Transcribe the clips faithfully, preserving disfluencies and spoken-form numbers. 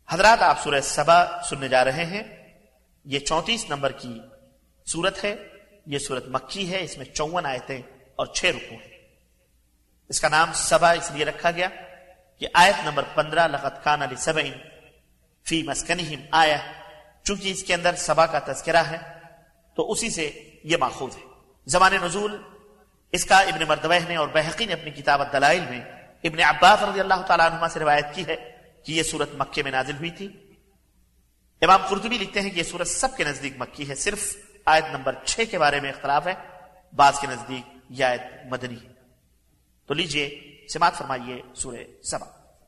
حضرات، آپ سورہ سبا سننے جا رہے ہیں۔ یہ چونتیس نمبر کی سورت ہے۔ یہ سورت مکی ہے، اس میں چون آیتیں اور چھ رکوع ہیں۔ اس کا نام سبا اس لیے رکھا گیا کہ آیت نمبر پندرہ لقد کان لسبع فی مسکنہم آیہ، چونکہ اس کے اندر سبا کا تذکرہ ہے تو اسی سے یہ ماخوذ ہے۔ زمان نزول اس کا ابن مردویہ نے اور بہقی نے اپنی کتاب الدلائل میں ابن عباس رضی اللہ تعالیٰ عنہما سے روایت کی ہے کہ یہ سورت مکے میں نازل ہوئی تھی۔ امام قرطبی لکھتے ہیں کہ یہ سورت سب کے نزدیک مکی ہے، صرف آیت نمبر چھ کے بارے میں اختلاف ہے، بعض کے نزدیک یہ آیت مدنی ہے۔ تو لیجئے سماعت فرمائیے سورہ سبا۔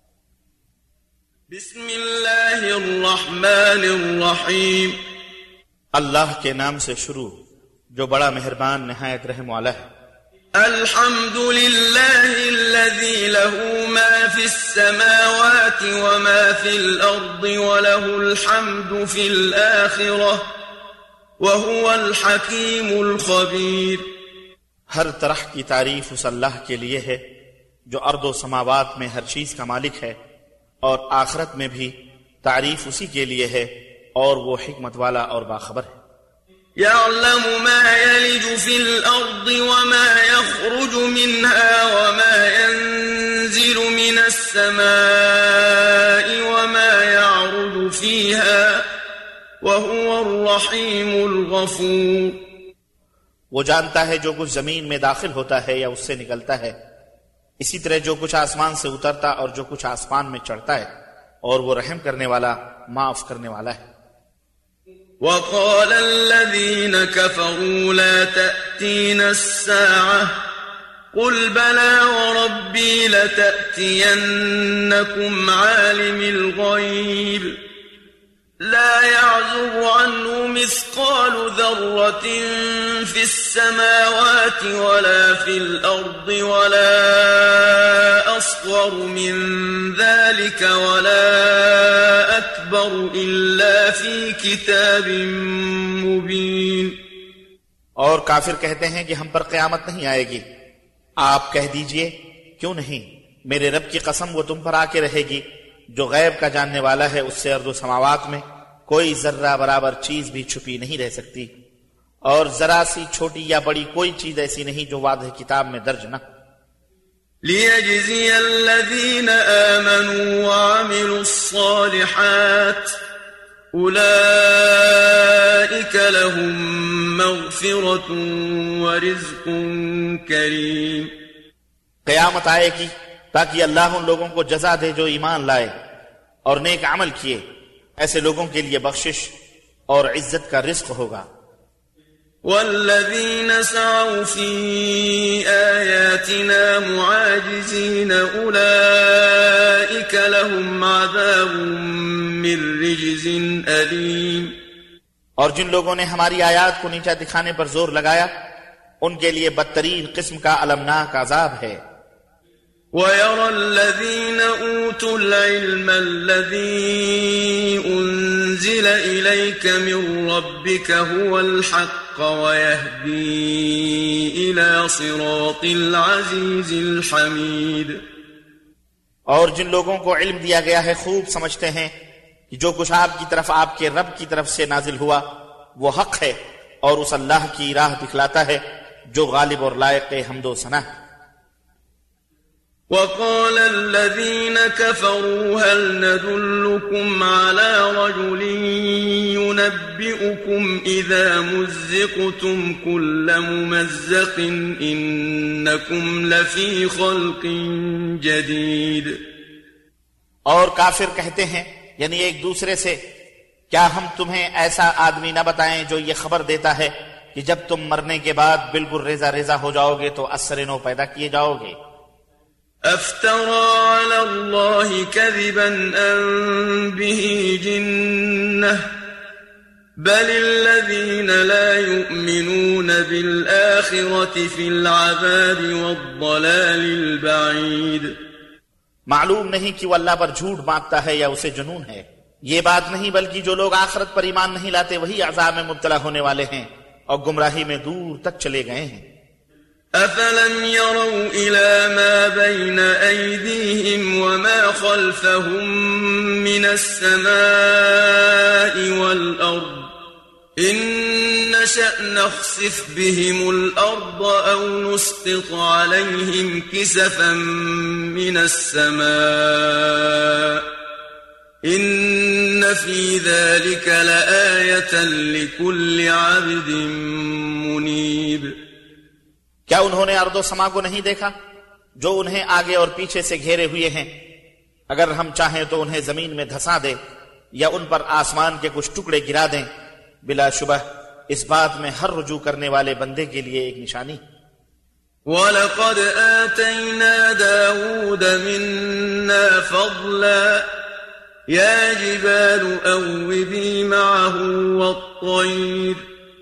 بسم اللہ الرحمن الرحیم، اللہ کے نام سے شروع جو بڑا مہربان نہایت رحم والا ہے۔ الحمد للہ الذی له ما فی السماوات وما فی الارض وله الحمد فی الآخرہ وهو الحکیم الخبیر۔ ہر طرح کی تعریف اس اللہ کے لیے ہے جو ارض و سماوات میں ہر چیز کا مالک ہے، اور آخرت میں بھی تعریف اسی کے لیے ہے، اور وہ حکمت والا اور باخبر ہے۔ يعلم ما يلج في الأرض وما يخرج منها وما ينزل من السماء وما يعرج فيها وهو الرحيم الغفور۔ وہ جانتا ہے جو کچھ زمین میں داخل ہوتا ہے یا اس سے نکلتا ہے، اسی طرح جو کچھ آسمان سے اترتا اور جو کچھ آسمان میں چڑھتا ہے، اور وہ رحم کرنے والا معاف کرنے والا ہے۔ وقال الذين كفروا لا تأتينا الساعة قل بلى وربي لتأتينكم عالم الغيب لا يعزب عنه مثقال ذرة في السماوات ولا في الأرض ولا أصغر من ذلك ولا أكبر إلا في كتاب مبين۔ اور کافر کہتے ہیں کہ ہم پر قیامت نہیں آئے گی۔ آپ کہہ دیجئے کیوں نہیں، میرے رب کی قسم وہ تم پر آ کے رہے گی جو غیب کا جاننے والا ہے، اس سے ارض و سماوات میں کوئی ذرہ برابر چیز بھی چھپی نہیں رہ سکتی، اور ذرا سی چھوٹی یا بڑی کوئی چیز ایسی نہیں جو واضح کتاب میں درج نہ۔ لِيَجْزِيَ الَّذِينَ آمَنُوا وَعَمِلُوا الصَّالِحَاتِ أُولَئِكَ لَهُم مَّغْفِرَةٌ وَرِزْقٌ كَرِيمٌ۔ قیامت آئے گی تاکہ اللہ ان لوگوں کو جزا دے جو ایمان لائے اور نیک عمل کیے، ایسے لوگوں کے لیے بخشش اور عزت کا رزق ہوگا۔ والذین سعوا فی آیاتنا معاجزین اولئک لهم عذاب من رجز علیم۔ اور جن لوگوں نے ہماری آیات کو نیچا دکھانے پر زور لگایا، ان کے لیے بدترین قسم کا المناک عذاب ہے۔ وَيَرَى الَّذِينَ أُوتُوا الْعِلْمَ الَّذِي أُنزِلَ إِلَيْكَ مِن رَّبِّكَ هُوَ الْحَقَّ وَيَهْدِي إِلَى صِرَاطِ الْعَزِيزِ الْحَمِيدِ۔ اور جن لوگوں کو علم دیا گیا ہے خوب سمجھتے ہیں کہ جو کچھ آپ کی طرف آپ کے رب کی طرف سے نازل ہوا وہ حق ہے، اور اس اللہ کی راہ دکھلاتا ہے جو غالب اور لائق حمد و ثنا ہے۔ وقال الذين كفروا هل ندلكم على رجل ينبئكم إذا مزقتم كل ممزق إنكم لفي خلق جديد۔ اور کافر کہتے ہیں یعنی ایک دوسرے سے، کیا ہم تمہیں ایسا آدمی نہ بتائیں جو یہ خبر دیتا ہے کہ جب تم مرنے کے بعد بالکل ریزہ ریزہ ہو جاؤ گے تو اثر نو پیدا کیے جاؤ گے۔ افترى على الله كذبا أم به جنة بل الذين لا يؤمنون بالآخرة في العذاب والضلال البعيد۔ معلوم نہیں کہ وہ اللہ پر جھوٹ باندھتا ہے یا اسے جنون ہے۔ یہ بات نہیں بلکہ جو لوگ آخرت پر ایمان نہیں لاتے وہی عذاب میں مبتلا ہونے والے ہیں اور گمراہی میں دور تک چلے گئے ہیں۔ أفلم يروا إلى ما بين أيديهم وما خلفهم من السماء والأرض إن نشأ نخسف بهم الأرض أو نسقط عليهم كسفا من السماء إن في ذلك لآية لكل عبد منيب. کیا انہوں نے ارض و سما کو نہیں دیکھا جو انہیں آگے اور پیچھے سے گھیرے ہوئے ہیں؟ اگر ہم چاہیں تو انہیں زمین میں دھسا دے یا ان پر آسمان کے کچھ ٹکڑے گرا دیں، بلا شبہ اس بات میں ہر رجوع کرنے والے بندے کے لیے ایک نشانی. وَلَقَدْ آتَيْنَا دَاوُودَ مِنَّا فَضْلًا يَا جِبَالُ أَوِّبِي مَعَهُ وَالطَّيْرَ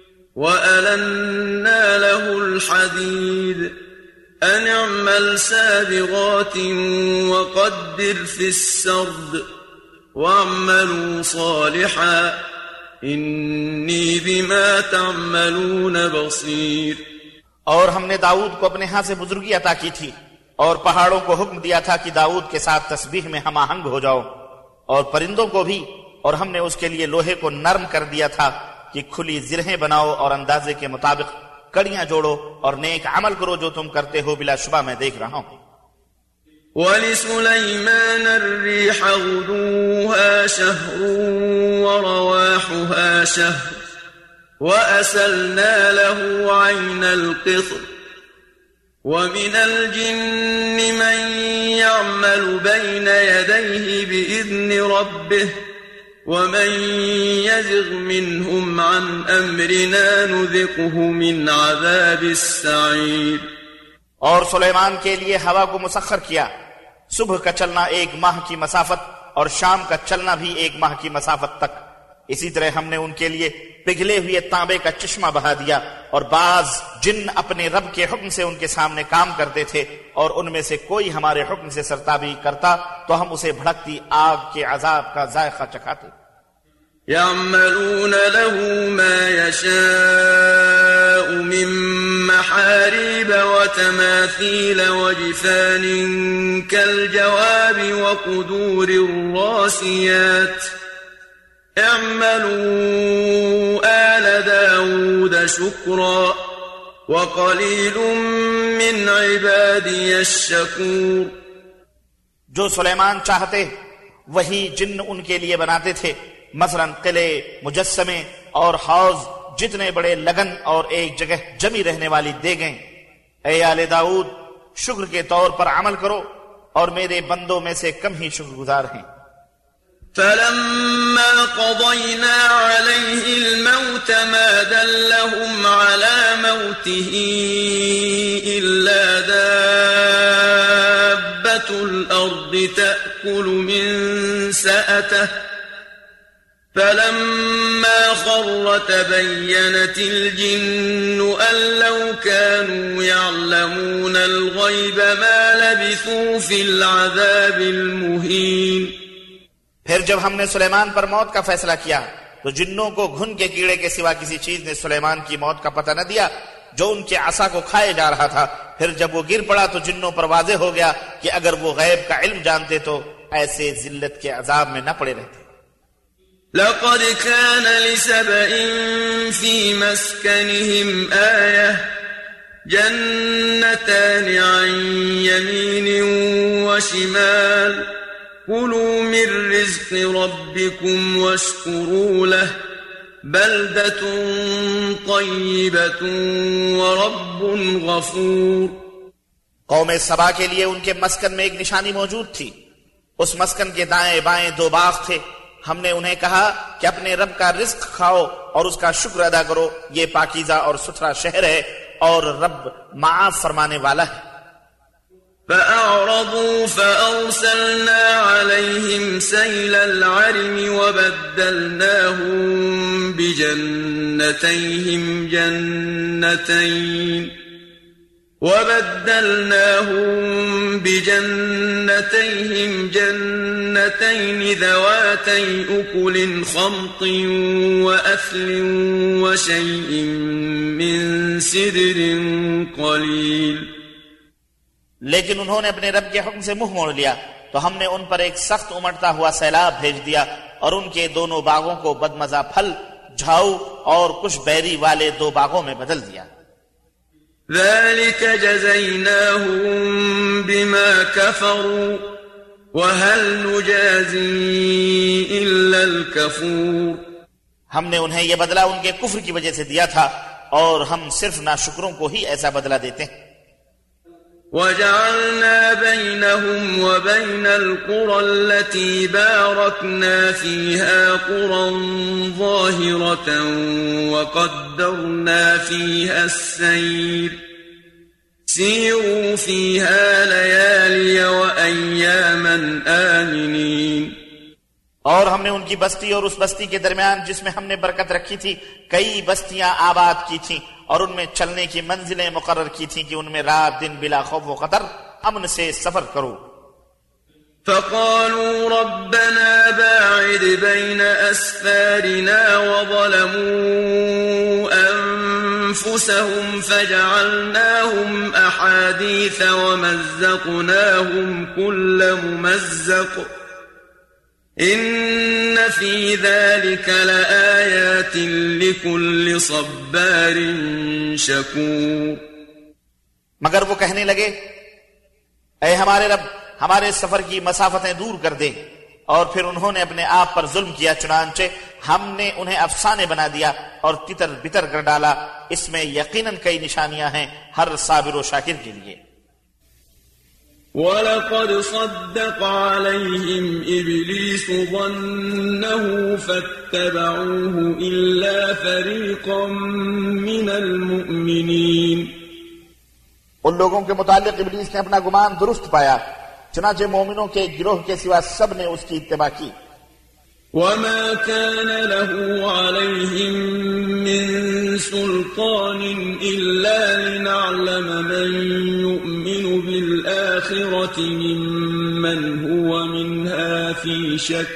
وَأَلَنَّا لَهُ الْحَدِيدَ أَنِ اعْمَلْ سَابِغَاتٍ وَقَدِّرْ فِي السَّرْدِ وَاعْمَلُوا صَالِحًا إِنِّي بِمَا تَعْمَلُونَ بَصِيرٌ. اور ہم نے داؤد کو اپنے ہاں سے بزرگی عطا کی تھی اور پہاڑوں کو حکم دیا تھا کہ داؤد کے ساتھ تسبیح میں ہم آہنگ ہو جاؤ، اور پرندوں کو بھی، اور ہم نے اس کے لیے لوہے کو نرم کر دیا تھا کہ کھلی زرہیں بناؤ اور اندازے کے مطابق کڑیاں جوڑو اور نیک عمل کرو جو تم کرتے ہو، بلا شبہ میں دیکھ رہا ہوں. وَلِسُلَيْمَانَ الرِّيحَ غُدُوُّهَا شَهْرٌ وَرَوَاحُهَا شَهْرٌ وَأَسَلْنَا لَهُ عَيْنَ الْقِطْرِ وَمِنَ الْجِنِّ مَن يَعْمَلُ بَيْنَ يَدَيْهِ بِإِذْنِ رَبِّهِ وَمَن يَزِغْ مِنْهُمْ عَنْ أَمْرِنَا نُذِقْهُ مِنْ عَذَابِ السَّعِيرِ. اور سلیمان کے لیے ہوا کو مسخر کیا، صبح کا چلنا ایک ماہ کی مسافت اور شام کا چلنا بھی ایک ماہ کی مسافت تک. اسی طرح ہم نے ان کے لیے پگھلے ہوئے تانبے کا چشمہ بہا دیا، اور بعض جن اپنے رب کے حکم سے ان کے سامنے کام کرتے تھے، اور ان میں سے کوئی ہمارے حکم سے سرتابی کرتا تو ہم اسے بھڑکتی آگ کے عذاب کا ذائقہ چکھاتے. يعملون له ما يشاء من محاريب وتماثيل وجفان كالجواب وقدور الراسيات اعملوا آل داود شكرا وقليل من عبادي الشكور. جو سلیمان چاہتے وہی جن ان کے لیے بناتے تھے، مثلا قلعے، مجسمے اور حوض جتنے بڑے لگن اور ایک جگہ جمی رہنے والی دیگیں. اے آل داؤد، شکر کے طور پر عمل کرو، اور میرے بندوں میں سے کم ہی شکر گزار ہیں. فَلَمَّا قَضَيْنَا عَلَيْهِ الْمَوْتَ مَا دَلَّهُمْ عَلَى مَوْتِهِ إِلَّا دَابَّةُ الْأَرْضِ تَأْكُلُ مِنْ سَأَتَهُ فَلَمَّا خَرَّ تَبَيَّنَتِ الْجِنُّ أَن لَّوْ كَانُوا يَعْلَمُونَ الْغَيْبَ مَا لَبِثُوا فِي الْعَذَابِ الْمُهِينِ. پھر جب ہم نے سلیمان پر موت کا فیصلہ کیا تو جنوں کو گھن کے کیڑے کے سوا کسی چیز نے سلیمان کی موت کا پتہ نہ دیا جو ان کے عصا کو کھائے جا رہا تھا. پھر جب وہ گر پڑا تو جنوں پر واضح ہو گیا کہ اگر وہ غیب کا علم جانتے تو ایسے ذلت کے عذاب میں نہ پڑے رہتے. لقد كان لسبإ في مسكنهم آية جنتان عن يمين وشمال كلوا من رزق ربكم واشكروا له بلدة طيبة ورب غفور. قوم سبا کے لیے ان کے مسکن میں ایک نشانی موجود تھی. اس مسکن کے دائیں بائیں دو باغ تھے. ہم نے انہیں کہا کہ اپنے رب کا رزق کھاؤ اور اس کا شکر ادا کرو. یہ پاکیزہ اور ستھرا شہر ہے اور رب معاف فرمانے والا ہے. فَأَعْرَضُوا فَأَرْسَلْنَا عَلَيْهِمْ سَيْلَ الْعَرِمِ وَبَدَّلْنَاهُمْ بِجَنَّتَيْهِمْ جَنَّتَيْنِ وبدلناهم بجنتيهم جنتين ذواتي أكل خمط وأثل وشيء من سدر قليل. لیکن انہوں نے اپنے رب کے حکم سے منہ موڑ لیا تو ہم نے ان پر ایک سخت امڑتا ہوا سیلاب بھیج دیا اور ان کے دونوں باغوں کو بدمزہ پھل، جھاؤ اور کچھ بیری والے دو باغوں میں بدل دیا. ذلك جزيناهم بما كفروا وهل نجازي إلا الكفور. ہم نے انہیں یہ بدلہ ان کے کفر کی وجہ سے دیا تھا اور ہم صرف ناشکروں کو ہی ایسا بدلہ دیتے ہیں. وجعلنا بينهم وبين القرى التي باركنا فيها قرى ظاهرة وقدرنا فيها السير سيروا فيها ليالي وأياما آمنين. اور ہم نے ان کی بستی اور اس بستی کے درمیان جس میں ہم نے برکت رکھی تھی کئی بستیاں آباد کی تھیں اور ان میں چلنے کی منزلیں مقرر کی تھیں کہ ان میں رات دن بلا خوف و خطر امن سے سفر کرو. فقالوا ربنا باعد بين أسفارنا وظلموا أنفسهم فجعلناهم أحاديث ومزقناهم كل ممزق إن في ذلك لآيات لكل صبار شكور. مگر وہ کہنے لگے اے ہمارے رب ہمارے سفر کی مسافتیں دور کر دے، اور پھر انہوں نے اپنے آپ پر ظلم کیا چنانچہ ہم نے انہیں افسانے بنا دیا اور تتر بتر کر ڈالا. اس میں یقیناً کئی نشانیاں ہیں ہر صابر و شاکر کے لیے. وَلَقَدْ صَدَّقَ عَلَيْهِمْ إِبْلِيسُ ظَنَّهُ فَاتَّبَعُوهُ إِلَّا فَرِيقًا مِّنَ الْمُؤْمِنِينَ. ان لوگوں کے متعلق ابلیس نے اپنا گمان درست پایا، چنانچہ مومنوں کے گروہ کے سوا سب نے اس کی اتباع کی. وَمَا كَانَ لَهُ عَلَيْهِمْ مِنْ سُلْطَانٍ إِلَّا لِنَعْلَمَ مَنْ يُؤْمِنُ بِالْآخِرَةِ مِمَّنْ هُوَ مِنْهَا فِي شَكٍّ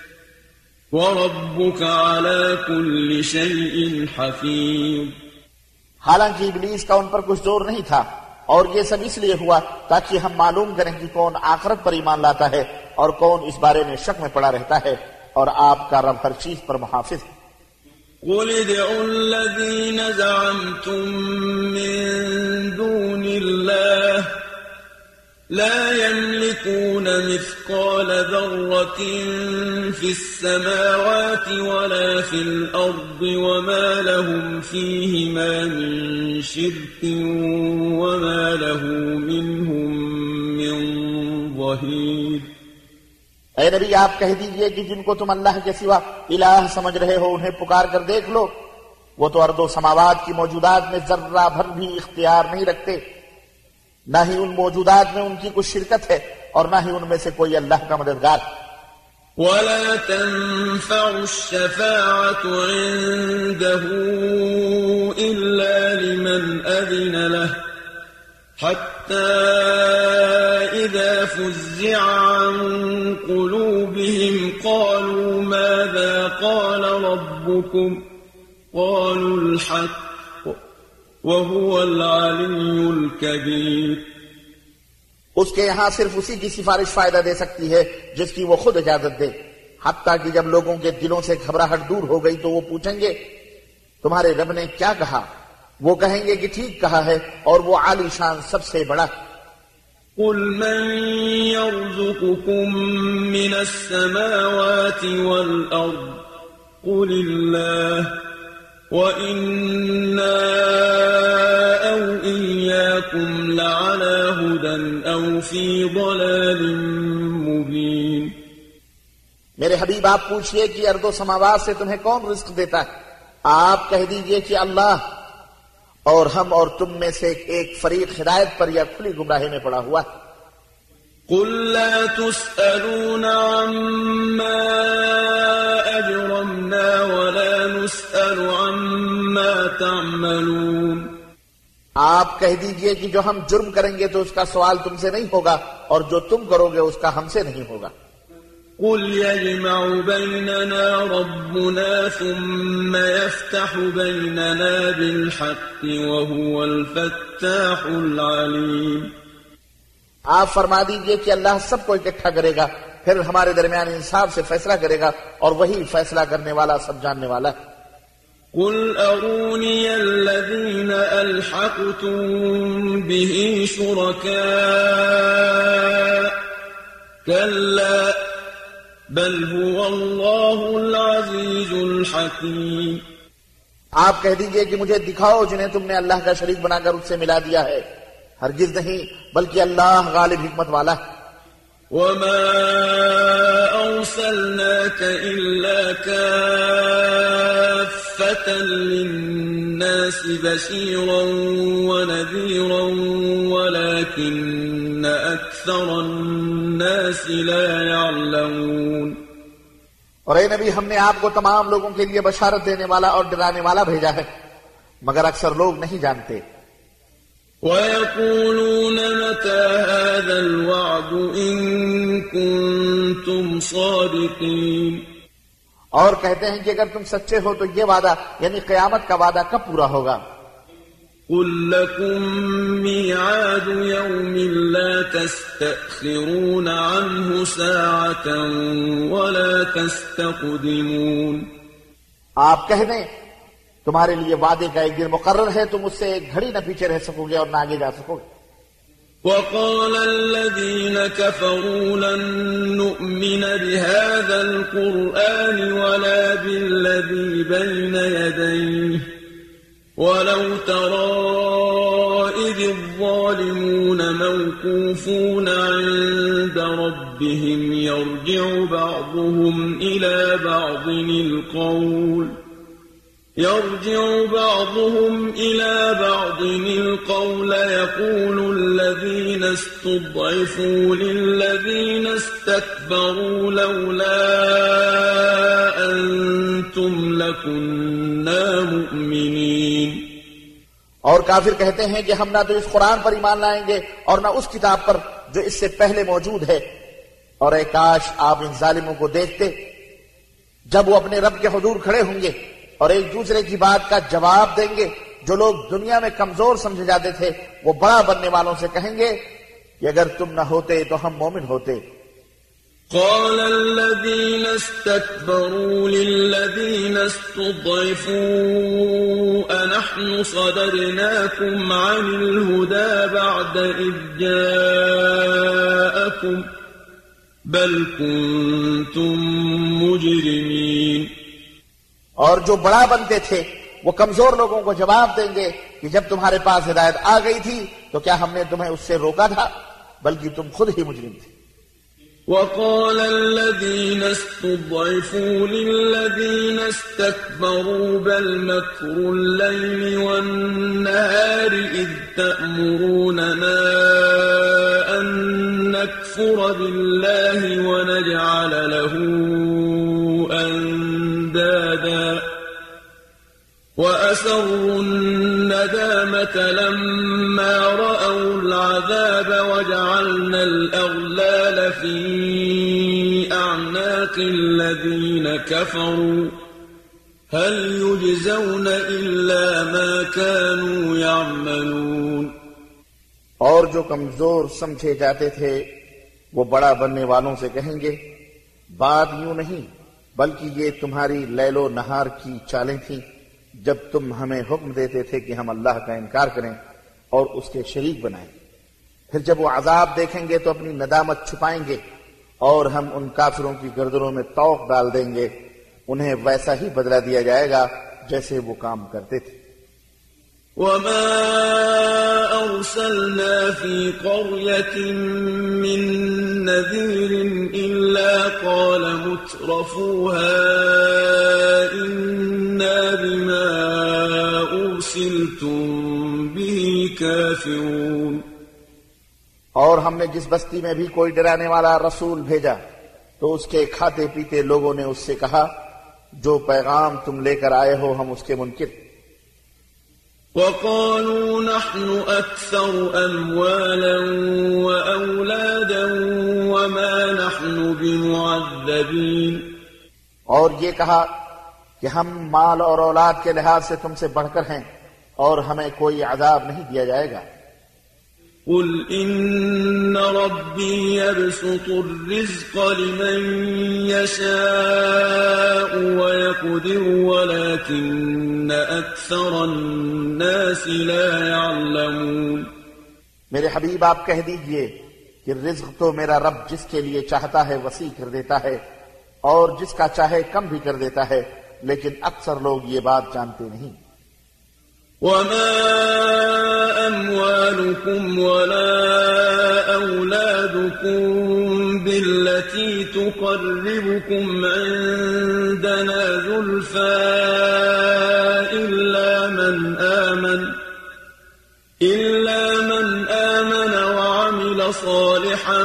وَرَبُّكَ عَلَى كُلِّ شَيْءٍ حَفِيظٌ. حالانکہ ابلیس کا ان پر کچھ زور نہیں تھا، اور یہ سب اس لیے ہوا تاکہ ہم معلوم کریں کہ کون آخرت پر ایمان لاتا ہے اور کون اس بارے میں شک میں پڑا رہتا ہے، اور آپ کا رب ہر چیز پر محافظ ہے. قُلِ ادْعُوا الَّذِينَ زَعَمْتُم مِّن دُونِ اللَّهِ لَا يَمْلِكُونَ مِثْقَالَ ذَرَّةٍ فِي السَّمَاوَاتِ وَلَا فِي الْأَرْضِ وَمَا لَهُمْ فِيهِمَا مِن شِرْكٍ وَمَا لَهُ مِنْهُم مِّن ظَهِيرٍ. اے نبی آپ کہہ دیجئے کہ جن کو تم اللہ کے سوا الہ سمجھ رہے ہو انہیں پکار کر دیکھ لو، وہ تو ارض و سماوات کی موجودات میں ذرہ بھر بھی اختیار نہیں رکھتے، نہ ہی ان موجودات میں ان کی کچھ شرکت ہے اور نہ ہی ان میں سے کوئی اللہ کا مددگار. وَلَا تَنفَعُ الشَّفَاعَةُ عِندَهُ إِلَّا لِمَنْ أَذِنَ لَهُ حَتَّى إِذَا فُزِّعَ عَنْ قُلُوبِهِمْ قَالُوا مَاذَا قَالَ رَبُّكُمْ قَالُوا الْحَقَّ وَهُوَ الْعَلِيُّ الْكَبِيرُ. اس کے یہاں صرف اسی کی سفارش فائدہ دے سکتی ہے جس کی وہ خود اجازت دے، حتیٰ کہ جب لوگوں کے دلوں سے گھبراہٹ دور ہو گئی تو وہ پوچھیں گے تمہارے رب نے کیا کہا؟ وہ کہیں گے کہ ٹھیک کہا ہے اور وہ عالی شان سب سے بڑا. قُلْ مَنْ يَرْزُقُكُم مِّنَ السَّمَاوَاتِ وَالْأَرْضِ قُلِ اللَّهُ وَإِنَّا أَوْ إِيَّاكُمْ لَعَلَى هُدًى أَوْ فِي ضَلَالٍ مُبِينٍ. میرے حبیب آپ پوچھئے کہ ارض و سماوات سے تمہیں کون رزق دیتا ہے؟ آپ کہہ دیجئے کہ اللہ، اور ہم اور تم میں سے ایک فریق ہدایت پر یا کھلی گمراہی میں پڑا ہوا. قُلْ لَا تُسْأَلُونَ عَمَّا أَجْرَمْنَا وَلَا نُسْأَلُ عَمَّا تَعْمَلُونَ. آپ کہہ دیجئے کہ جو ہم جرم کریں گے تو اس کا سوال تم سے نہیں ہوگا اور جو تم کرو گے اس کا ہم سے نہیں ہوگا. قل يجمع بيننا ربنا ثم يفتح بيننا بالحق وهو الفتاح العليم. آپ فرما دیجئے کہ اللہ سب کو اکٹھا کرے گا، پھر ہمارے درمیان انصاف سے فیصلہ کرے گا اور وہی فیصلہ کرنے والا، سب جاننے والا ہے. قل أروني الذين ألحقتم به شركاء كلا بل هو الله العزيز الحكيم. آپ کہہ دیجئے کہ مجھے دکھاؤ جنہیں تم نے اللہ کا شریک بنا کر اس سے ملا دیا ہے. ہرگز نہیں، بلکہ اللہ غالب حکمت والا ہے. وما أرسلناك إلا كافة للناس بشيرا ونذيرا ولكن أكثر الناس لا يعلمون. اور اے نبی، ہم نے آپ کو تمام لوگوں کے لیے بشارت دینے والا اور ڈرانے والا بھیجا ہے، مگر اکثر لوگ نہیں جانتے. وَيَقُولُونَ مَتَى هَذَا الْوَعْدُ إِن كُنتُمْ صَادِقِينَ. اور کہتے ہیں کہ اگر تم سچے ہو تو یہ وعدہ یعنی قیامت کا وعدہ کب پورا ہوگا؟ قُل لَّكُم مِّيعَادُ يَوْمٍ لَّا تَسْتَأْخِرُونَ عَنْهُ سَاعَةً وَلَا تَسْتَقْدِمُونَ. آپ کہہ دیں تمہارے لیے وعدے کا ایک دن مقرر ہے، تم اس سے ایک گھڑی نہ پیچھے رہ سکو گے اور نہ آگے جا سکو گے. وقال الذين كفروا لن نؤمن بهذا القرآن ولا بالذي بين يديه ولو ترى إذ الظالمون موقوفون عند ربهم يرجع بعضهم إلى بعض القول يرجع بعضهم إلى بعض القول يقول الذين استضعفوا للذين استكبروا لولا أنتم لكنا مؤمنين. اور کافر کہتے ہیں کہ ہم نہ تو اس قرآن پر ایمان لائیں گے اور نہ اس کتاب پر جو اس سے پہلے موجود ہے. اور اے کاش آپ ان ظالموں کو دیکھتے جب وہ اپنے رب کے حضور کھڑے ہوں گے اور ایک دوسرے کی بات کا جواب دیں گے. جو لوگ دنیا میں کمزور سمجھے جاتے تھے وہ بڑا بننے والوں سے کہیں گے کہ اگر تم نہ ہوتے تو ہم مومن ہوتے. قال الذين استكبروا للذين استضعفوا أنحن صدرناكم عن الهدى بعد إذ جاءكم بل كنتم مجرمين. اور جو بڑا بنتے تھے وہ کمزور لوگوں کو جواب دیں گے کہ جب تمہارے پاس ہدایت آ گئی تھی تو کیا ہم نے تمہیں اس سے روکا تھا، بلکہ تم خود ہی مجرم تھے. وقال الذين استضعفوا للذين استكبروا بل مكر الليل والنهار إذ تأمروننا أن نكفر بالله ونجعل له أندادا وأسروا الندامة لما رأوا العذاب وجعلنا الأغلال في أعناق الذين كفروا هل يجزون إلا ما كانوا يعملون. اور جو کمزور سمجھے جاتے تھے وہ بڑا بننے والوں سے کہیں گے بات یوں نہیں بلکہ یہ تمہاری لیل و نہار کی چالیں تھیں جب تم ہمیں حکم دیتے تھے کہ ہم اللہ کا انکار کریں اور اس کے شریک بنائیں. پھر جب وہ عذاب دیکھیں گے تو اپنی ندامت چھپائیں گے اور ہم ان کافروں کی گردنوں میں طوق ڈال دیں گے. انہیں ویسا ہی بدلہ دیا جائے گا جیسے وہ کام کرتے تھے. وما أرسلنا في قرية من نذير إلا قال مترفوها إنا بما أرسلتم به كافرون. اور ہم نے جس بستی میں بھی کوئی ڈرانے والا رسول بھیجا تو اس کے کھاتے پیتے لوگوں نے اس سے کہا جو پیغام تم لے کر آئے ہو ہم اس کے منکر. وقالوا نحن أكثر أموالا وأولادا وما نحن بمعذبين. اور یہ کہا کہ ہم مال اور اولاد کے لحاظ سے تم سے بڑھ کر ہیں اور ہمیں کوئی عذاب نہیں دیا جائے گا. قل إن ربي يبسط الرزق لمن يشاء ويقدر ولكن أكثر الناس لا يعلمون. میرے حبیب آپ کہہ دیجئے کہ رزق تو میرا رب جس کے لیے چاہتا ہے وسیع کر دیتا ہے اور جس کا چاہے کم بھی کر دیتا ہے، لیکن اکثر لوگ یہ بات جانتے نہیں. وما أموالكم ولا أولادكم بالتي تقربكم عندنا زلفى إلا من آمن إلا من آمن وعمل صالحا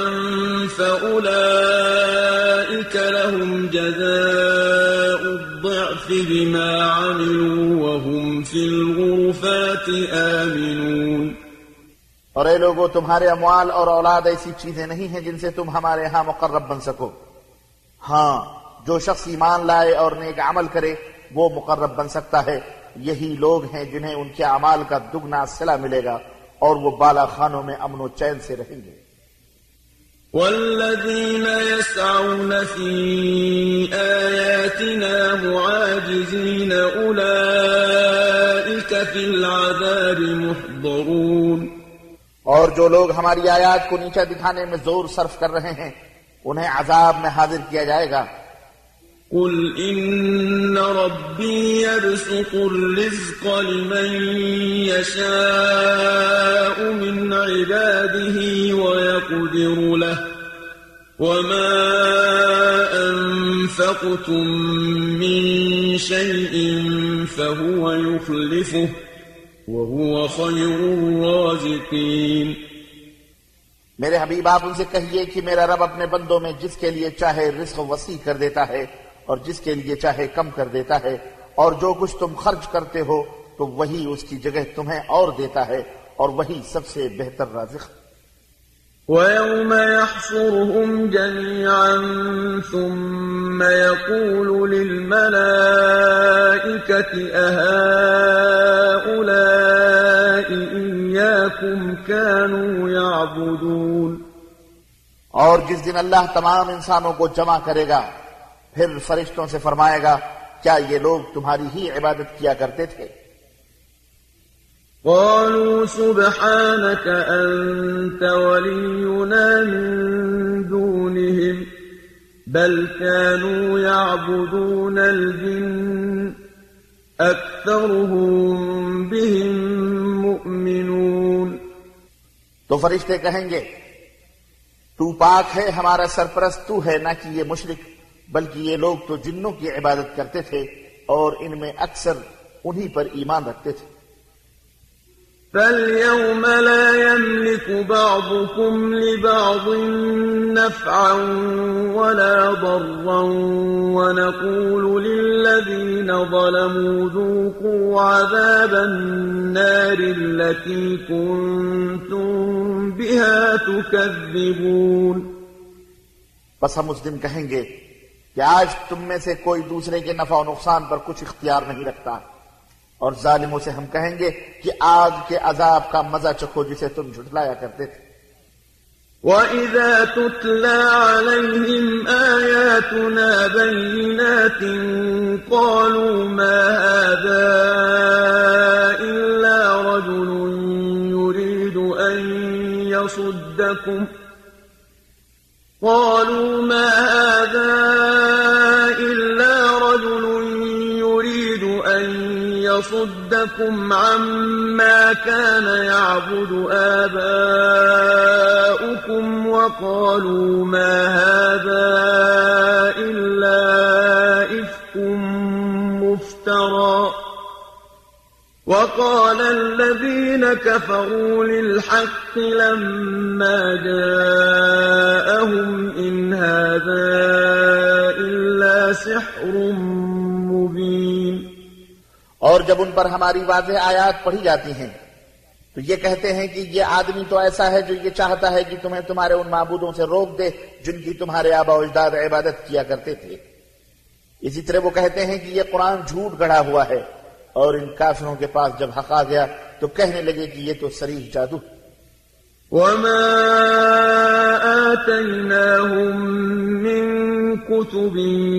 فأولئك لهم جزاء الضعف بما عملوا وهم في الغرفات آمنون. اور اے لوگو، تمہارے اموال اور اولاد ایسی چیزیں نہیں ہیں جن سے تم ہمارے ہاں مقرب بن سکو. ہاں، جو شخص ایمان لائے اور نیک عمل کرے وہ مقرب بن سکتا ہے. یہی لوگ ہیں جنہیں ان کے اعمال کا دگنا صلہ ملے گا اور وہ بالا خانوں میں امن و چین سے رہیں گے. والذين يسعون في آياتنا معاجزين أولئك في العذاب محضرون. اور جو لوگ ہماری آیات کو نیچا دکھانے میں زور صرف کر رہے ہیں انہیں عذاب میں حاضر کیا جائے گا. قل إن ربي يبسط الرزق لمن يشاء من عباده ويقدر له وما أنفقتم من شيء فهو يخلفه وهو خير الرازقين. میرے حبیب آپ ان سے کہیے کہ میرا رب اپنے بندوں میں جس کے لیے چاہے رزق وسیع کر دیتا ہے اور جس کے لیے چاہے کم کر دیتا ہے، اور جو کچھ تم خرچ کرتے ہو تو وہی اس کی جگہ تمہیں اور دیتا ہے اور وہی سب سے بہتر رازق. وَيَوْمَ يَحْشُرُهُمْ جَمِيعًا ثُمَّ يَقُولُ لِلْمَلَائِكَةِ أَهَؤُلَاءِ إِيَّاكُمْ كَانُوا يَعْبُدُونَ. اور جس دن اللہ تمام انسانوں کو جمع کرے گا پھر فرشتوں سے فرمائے گا کیا یہ لوگ تمہاری ہی عبادت کیا کرتے تھے؟ قالوا سبحانك أنت ولينا من دونهم بل كانوا يعبدون الجن أكثرهم بهم مؤمنون. تو فرشتے کہیں گے تو پاک ہے، ہمارا سرپرست تو ہے، نہ کہ یہ مشرک، بلکہ یہ لوگ تو جنوں کی عبادت کرتے تھے اور ان میں اکثر انہی پر ایمان رکھتے تھے. فَالْيَوْمَ لَا يَمْلِكُ بَعْضُكُمْ لِبَعْضٍ نَفْعًا وَلَا ضَرًّا وَنَقُولُ لِلَّذِينَ ظَلَمُوا ذُوقُوا عَذَابَ النَّارِ الَّتِي كُنتُم بِهَا تُكَذِّبُونَ. بس ہم اس دن کہیں گے کہ آج تم میں سے کوئی دوسرے کے نفع و نقصان پر کچھ اختیار نہیں رکھتا، اور ظالموں سے ہم کہیں گے کہ آگ کے عذاب کا مزہ چکھو جسے تم جھٹلایا کرتے تھے. وَإِذَا تُتْلَى عَلَيْهِمْ آيَاتُنَا بَيِّنَاتٍ قَالُوا مَا هَذَا إِلَّا رَجُلٌ يُرِيدُ أَن يَصُدَّكُمْ قالوا ما هذا إلا رجل يريد أن يصدكم عما كان يعبد آباؤكم وقالوا ما هذا إلا إفك مفترى. وقال الذين كفروا للحق لما جاءهم إن هذا إلا سحر مبين. اور جب ان پر ہماری واضح آیات پڑھی جاتی ہیں تو یہ کہتے ہیں کہ یہ آدمی تو ایسا ہے جو یہ چاہتا ہے کہ تمہیں تمہارے ان معبودوں سے روک دے جن کی تمہارے آبا و اجداد عبادت کیا کرتے تھے. اسی طرح وہ کہتے ہیں کہ یہ قرآن جھوٹ گڑھا ہوا ہے، اور ان کافروں کے پاس جب حق آ گیا تو کہنے لگے کہ یہ تو صریح جادو. وما آتيناهم من كتب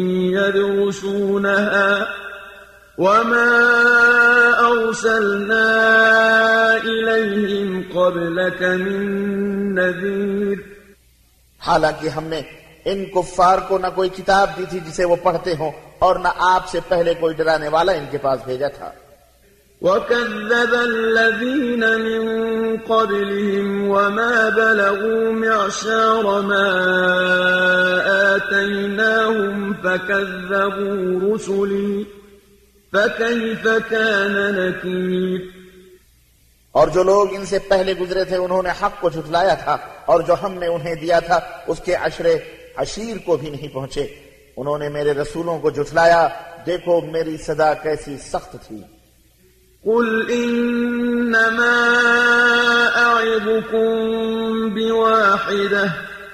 يدرسونها وما أرسلنا إليهم قبلك من نذير. حالانکہ ہم نے ان کفار کو نہ کوئی کتاب دی تھی جسے وہ پڑھتے ہوں، اور نہ آپ سے پہلے کوئی ڈرانے والا ان کے پاس بھیجا تھا. وَكَذَّبَ الَّذِينَ مِن قَبْلِهِمْ وَمَا بَلَغُوا مِعْشَارَ مَا آتَيْنَاهُمْ فَكَذَّبُوا رُسُلِي فَكَيْفَ كَانَ نَكِيرِ. اور جو لوگ ان سے پہلے گزرے تھے انہوں نے حق کو جھٹلایا تھا، اور جو ہم نے انہیں دیا تھا اس کے عشرے عشیر کو بھی نہیں پہنچے. انہوں نے میرے رسولوں کو جھٹلایا، دیکھو میری سزا کیسی سخت تھی. قل إنما أعظكم بواحدة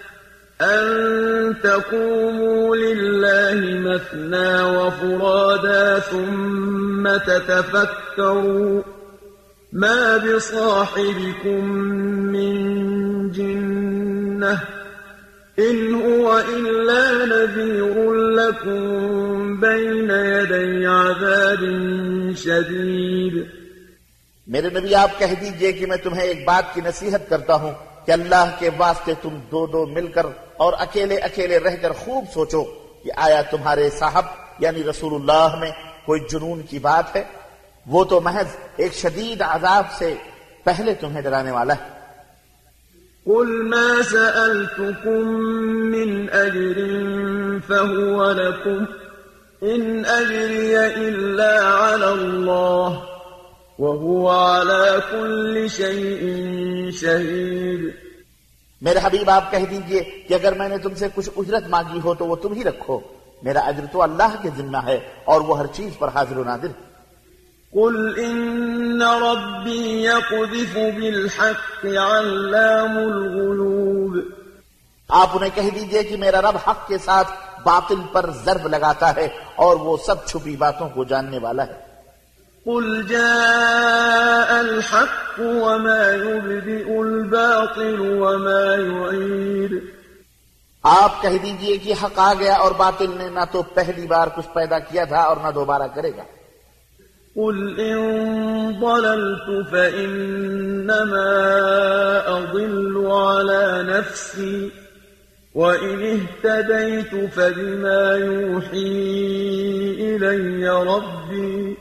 أن تقوموا لله مثنى وفرادا ثم تتفكروا ما بصاحبكم من جنة إن هو إلا نذير لكم بين يدي عذاب شدید. میرے نبی آپ کہہ دیجئے کہ میں تمہیں ایک بات کی نصیحت کرتا ہوں کہ اللہ کے واسطے تم دو دو مل کر اور اکیلے اکیلے رہ کر خوب سوچو کہ آیا تمہارے صاحب یعنی رسول اللہ میں کوئی جنون کی بات ہے؟ وہ تو محض ایک شدید عذاب سے پہلے تمہیں ڈرانے والا ہے. قل ما سألتكم من أجر فهو لكم إن أجري إلا على الله وهو على كل شيء شهيد. میرے حبیب آپ کہہ دیجئے کہ اگر میں نے تم سے کچھ اجرت مانگی ہو تو وہ تم ہی رکھو، میرا اجر تو اللہ کے ذمہ ہے اور وہ ہر چیز پر حاضر و ناظر. قل إن ربي يقذف بالحق علام الغيوب. آپ انہیں کہہ دیجئے کہ میرا رب حق کے ساتھ باطل پر ضرب لگاتا ہے اور وہ سب چھپی باتوں کو جاننے والا ہے. قل جاء الحق وما يبدئ الباطل وما يعيد. آپ کہہ دیجئے کہ حق آ گیا اور باطل نے نہ تو پہلی بار کچھ پیدا کیا تھا اور نہ دوبارہ کرے گا. قل إن ضللت فإنما أضل على نفسي وإن اهتديت فبما يوحي إلي ربي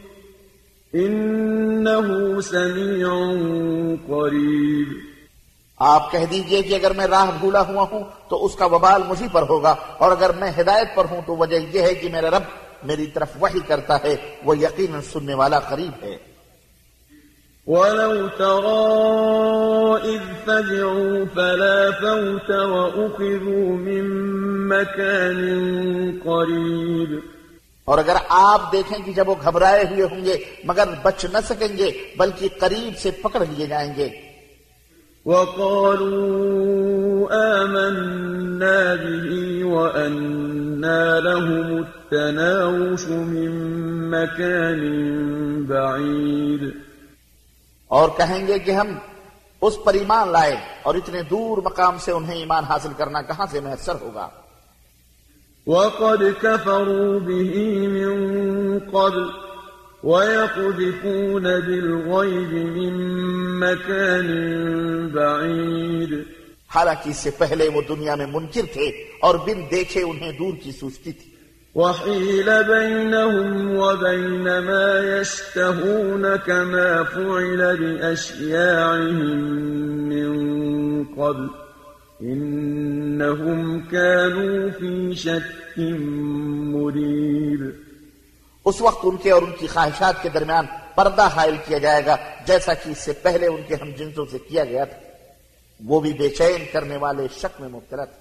إنه سميع قريب. آپ کہہ دیجئے کہ اگر میں راہ بھولا ہوا ہوں تو اس کا وبال مجھی پر ہوگا، اور اگر میں ہدایت پر ہوں تو وجہ یہ ہے کہ میرا رب میری طرف وحی کرتا ہے، وہ یقیناً سننے والا قریب ہے. وَلَوْ تَرَىٰ إِذْ فَزِعُوا فَلَا فَوْتَ وَأُخِذُوا مِن مَّكَانٍ قَرِيبٍ. اور اگر آپ دیکھیں کہ جب وہ گھبرائے ہوئے ہوں گے مگر بچ نہ سکیں گے بلکہ قریب سے پکڑ لیے جائیں گے. وَقَالُوا آمَنَّا بِهِ وَأَنَّىٰ لَهُمُ التَّنَاوُشُ مِن مَّكَانٍ بَعِيدٍ. اور کہیں گے کہ ہم اس پر ایمان لائے اور اتنے دور مقام سے انہیں ایمان حاصل کرنا کہاں سے میسر ہوگا. وَقَدْ كَفَرُوا بِهِ مِن قَبْلُ وَيَقْذِفُونَ بِالْغَيْبِ مِن مَّكَانٍ بَعِيدٍ. حالانکہ اس سے پہلے وہ دنیا میں منکر تھے اور بن دیکھے انہیں دور کی سوچتی تھی. وَحِيلَ بَيْنَهُمْ وَبَيْنَ مَا يَشْتَهُونَ كَمَا فُعِلَ بِأَشْيَاعِهِم مِّن قَبْلُ إِنَّهُمْ كَانُوا فِي شَكٍّ مُّرِيبٍ. اس وقت ان کے اور ان کی خواہشات کے درمیان پردہ حائل کیا جائے گا جیسا کہ اس سے پہلے ان کے ہم جنسوں سے کیا گیا تھا. وہ بھی بے چین کرنے والے شک میں مبتلا تھے.